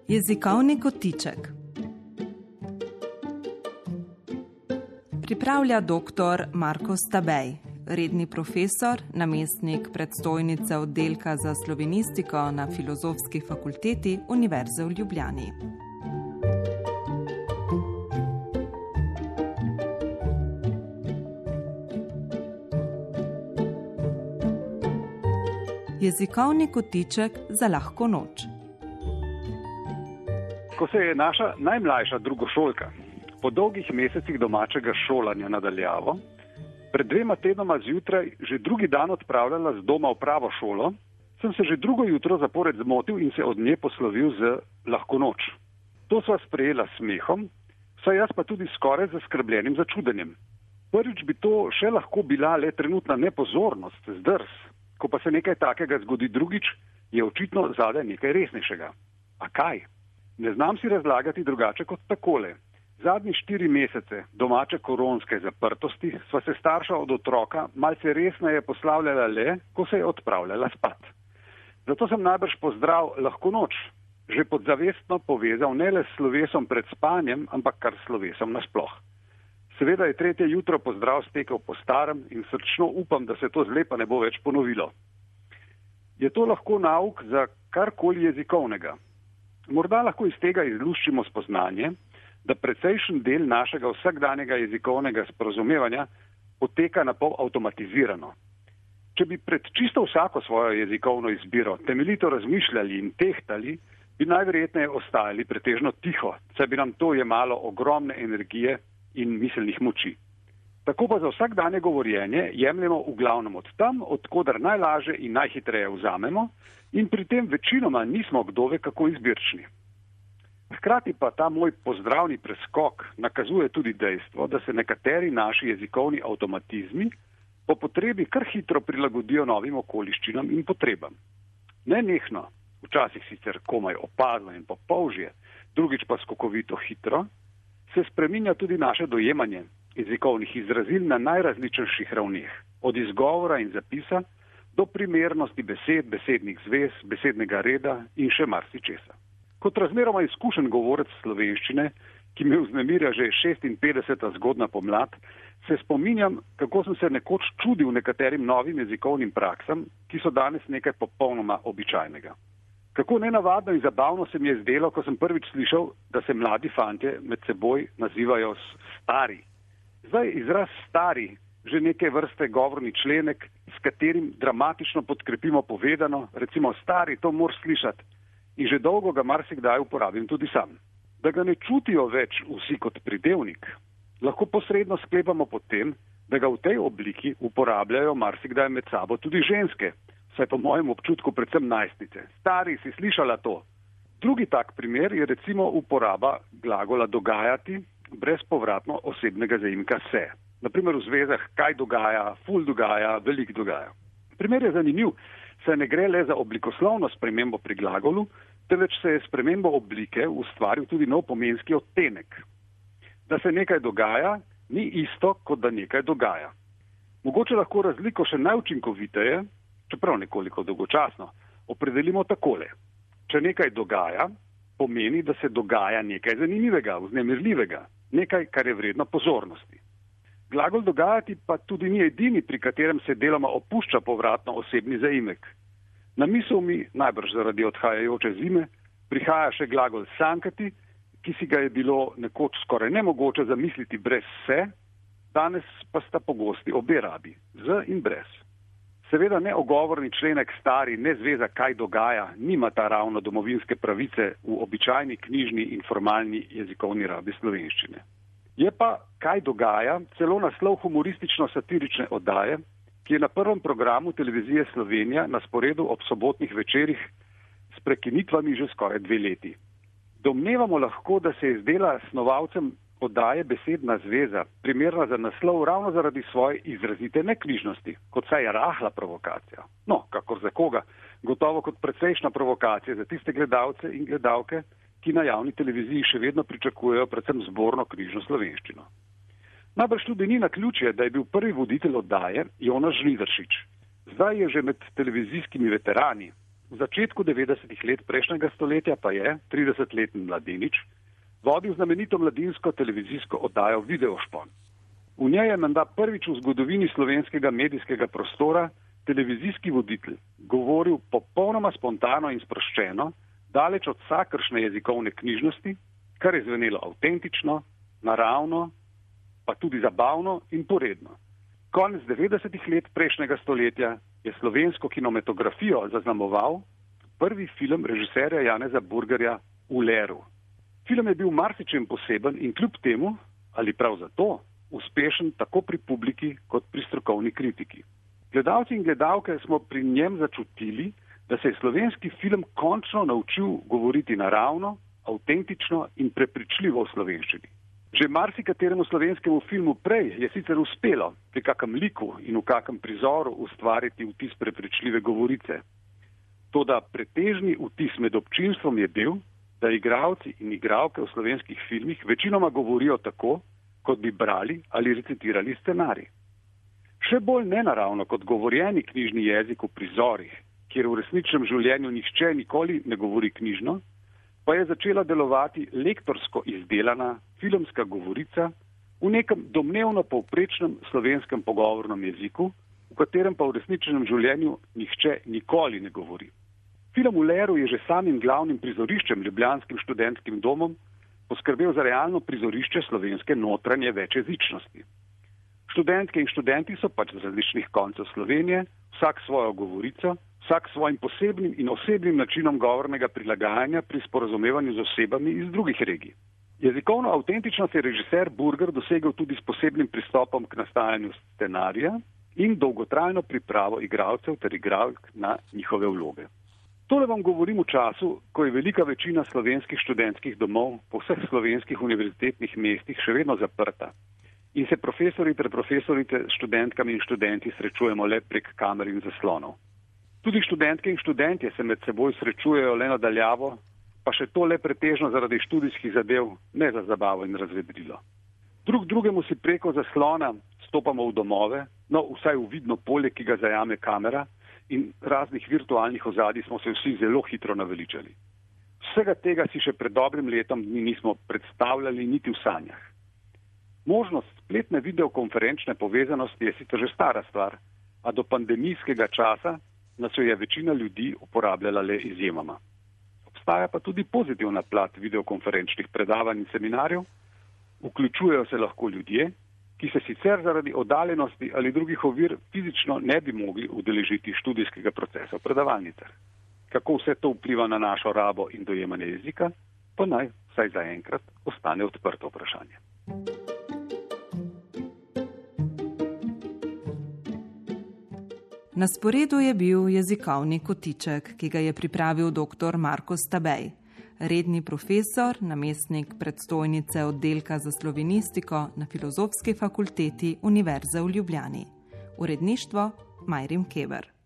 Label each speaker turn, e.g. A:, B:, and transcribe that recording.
A: Jezikovni kotiček. Pripravlja dr. Marko Stabej, redni profesor, namestnik predstojnice oddelka za slovenistiko na Filozofski fakulteti Univerze v Ljubljani. Jezikovni kotiček za lahko noč.
B: Ko se je naša najmlajša drugošolka po dolgih mesecih domačega šolanja nadaljavo, pred 2 tednoma zjutraj že drugi dan odpravljala z doma v pravo šolo, sem se že drugo jutro zapored zmotil in se od nje poslovil z lahko noč. To sva sprejela s smehom, saj jaz pa tudi skoraj zaskrbljenim začudenjem. Prvič bi to še lahko bila le trenutna nepozornost, zdrs, ko pa se nekaj takega zgodi drugič, je očitno zadaj nekaj resnejšega. A kaj? Ne znam si razlagati drugače kot takole. Zadnji 4 mesece domače koronske zaprtosti sva se starša od otroka malce resneje poslavljala le, ko se je odpravljala spat. Zato sem najbrž pozdrav lahko noč že podzavestno povezal ne le s slovesom pred spanjem, ampak kar slovesom nasploh. Seveda je 3. jutro pozdrav stekel po starem in srčno upam, da se to zlepa ne bo več ponovilo. Je to lahko nauk za karkoli jezikovnega? Morda lahko iz tega izluščimo spoznanje, da precejšen del našega vsakdanjega jezikovnega sporazumevanja poteka napol avtomatizirano. Če bi pred čisto vsako svojo jezikovno izbiro temeljito razmišljali in tehtali, bi najverjetneje ostajali pretežno tiho, saj bi nam to jemalo ogromne energije in miselnih moči. Tako pa za vsakdanje govorjenje jemljemo v glavnem od tam, odkudar najlaže in najhitreje vzamemo in pri tem večinoma nismo kdove kako izbirčni. Hkrati pa ta moj pozdravni preskok nakazuje tudi dejstvo, da se nekateri naši jezikovni avtomatizmi po potrebi kar hitro prilagodijo novim okoliščinam in potrebam. Nenehno, včasih sicer komaj opazno in popolžje, drugič pa skokovito hitro, se spreminja tudi naše dojemanje jezikovnih izrazil na najrazličnejših ravneh, od izgovora in zapisa do primernosti besed, besednih zvez, besednega reda in še marsičesa. Kot razmeroma izkušen govorec slovenščine, ki me vznemirja že 56. zgodna pomlad, se spominjam, kako sem se nekoč čudil nekaterim novim jezikovnim praksam, ki so danes nekaj popolnoma običajnega. Kako nenavadno in zabavno se mi je zdelo, ko sem prvič slišal, da se mladi fantje med seboj nazivajo stari. Zdaj izraz stari, že neke vrste govorni členek, s katerim dramatično podkrepimo povedano, recimo stari, to moraš slišati. In že dolgo ga marsikdaj uporabim tudi sam. Da ga ne čutijo več vsi kot pridevnik, lahko posredno sklepamo potem, da ga v tej obliki uporabljajo marsikdaj med sabo tudi ženske, saj po mojem občutku predvsem najstnice. Stari, si slišala to? Drugi tak primer je recimo uporaba glagola dogajati brez povratno osebnega zaimka se. Naprimer v zvezah kaj dogaja, ful dogaja, velik dogaja. Primer je zanimiv, saj ne gre le za oblikoslovno spremembo pri glagolu, temveč se je spremembo oblike ustvaril tudi nov pomenski odtenek. Da se nekaj dogaja, ni isto, kot da nekaj dogaja. Mogoče lahko razliko še najučinkoviteje, čeprav nekoliko dolgočasno, opredelimo takole. Če nekaj dogaja, pomeni, da se dogaja nekaj zanimivega, vznemirljivega, nekaj, kar je vredno pozornosti. Glagol dogajati pa tudi ni edini, pri katerem se deloma opušča povratno osebni zaimek. Na misel mi, najbrž zaradi odhajajoče zime, prihaja še glagol sankati, ki si ga je bilo nekoč skoraj nemogoče zamisliti brez se, danes pa sta pogosti obe rabi, z in brez. Seveda ne ogovorni členek stari, ne zveza kaj dogaja, nima ta ravno domovinske pravice v običajni knjižni in formalni jezikovni rabi slovenščine. Je pa kaj dogaja celo naslov humoristično-satirične oddaje, ki je na prvem programu televizije Slovenija na sporedu ob sobotnih večerih s prekinitvami že skoraj 2 leti. Domnevamo lahko, da se je zdela snovalcem oddaje besedna zveza primerna za naslov ravno zaradi svoje izrazite neknjižnosti, kot saj je rahla provokacija. No, kakor za koga, gotovo kot precejšna provokacija za tiste gledalce in gledalke, ki na javni televiziji še vedno pričakujejo predvsem zborno knjižno slovenščino. Najbrž tudi ni naključje, da je bil prvi voditelj oddaje Jonas Žnidaršič. Zdaj je že med televizijskimi veterani, V začetku 90-ih let prejšnjega stoletja pa je 30-letni mladenič vodil znamenito mladinsko televizijsko oddajo Videošpon. V njej je menda prvič v zgodovini slovenskega medijskega prostora televizijski voditelj govoril popolnoma spontano in sproščeno, daleč od vsakršne jezikovne knjižnosti, kar je zvenelo avtentično, naravno, pa tudi zabavno in poredno. Konec 90-ih let prejšnjega stoletja je slovensko kinematografijo zaznamoval prvi film režiserja Janeza Burgerja V leru. Film je bil marsičem poseben in kljub temu, ali prav zato, uspešen tako pri publiki kot pri strokovni kritiki. Gledalci in gledalke smo pri njem začutili, da se je slovenski film končno naučil govoriti naravno, avtentično in prepričljivo v slovenščini. Že marsikateremu slovenskemu filmu prej je sicer uspelo pri kakem liku in v kakem prizoru ustvariti vtis prepričljive govorice. Toda pretežni vtis med občinstvom je bil, da igralci in igralke v slovenskih filmih večinoma govorijo tako, kot bi brali ali recitirali scenarij. Še bolj nenaravno kot govorjeni knjižni jezik v prizorih, kjer v resničnem življenju nihče nikoli ne govori knjižno, pa je začela delovati lektorsko izdelana filmska govorica v nekem domnevno povprečnem slovenskem pogovornem jeziku, v katerem pa v resničnem življenju nihče nikoli ne govori. Film V leru je že samim glavnim prizoriščem ljubljanskim študentskim domom poskrbel za realno prizorišče slovenske notranje večjezičnosti. Študentke in študenti so pač z različnih koncev Slovenije, vsak svojo govorico, vsak svojim posebnim in osebnim načinom govornega prilagajanja pri sporazumevanju z osebami iz drugih regij. Jezikovno avtentičnost je režiser Burger dosegel tudi s posebnim pristopom k nastajanju scenarija in dolgotrajno pripravo igralcev ter igralk na njihove vloge. Tole vam govorim v času, ko je velika večina slovenskih študentskih domov po vseh slovenskih univerzitetnih mestih še vedno zaprta in se profesori ter profesorice s študentkami in študenti srečujemo le prek kamer in zaslonov. Tudi študentke in študentje se med seboj srečujejo le na daljavo, pa še to le pretežno zaradi študijskih zadev, ne za zabavo in razvedrilo. Drug drugemu si preko zaslona stopamo v domove, no vsaj v vidno polje, ki ga zajame kamera, in raznih virtualnih ozadij smo se vsi zelo hitro naveličali. Vsega tega si še pred dobrim letom dni nismo predstavljali niti v sanjah. Možnost spletne videokonferenčne povezanosti je sicer že stara stvar, a do pandemijskega časa nas jo je večina ljudi uporabljala le izjemoma. Obstaja pa tudi pozitivna plat videokonferenčnih predavanj in seminarjev, vključujejo se lahko ljudje, ki se sicer zaradi oddaljenosti ali drugih ovir fizično ne bi mogli udeležiti študijskega procesa v predavalnicah. Kako vse to vpliva na našo rabo in dojemanje jezika, pa naj vsaj zaenkrat ostane odprto vprašanje.
A: Na sporedu je bil jezikovni kotiček, ki ga je pripravil dr. Marko Stabej, redni profesor, namestnik predstojnice oddelka za slovenistiko na Filozofski fakulteti Univerze v Ljubljani. Uredništvo Majrim Keber.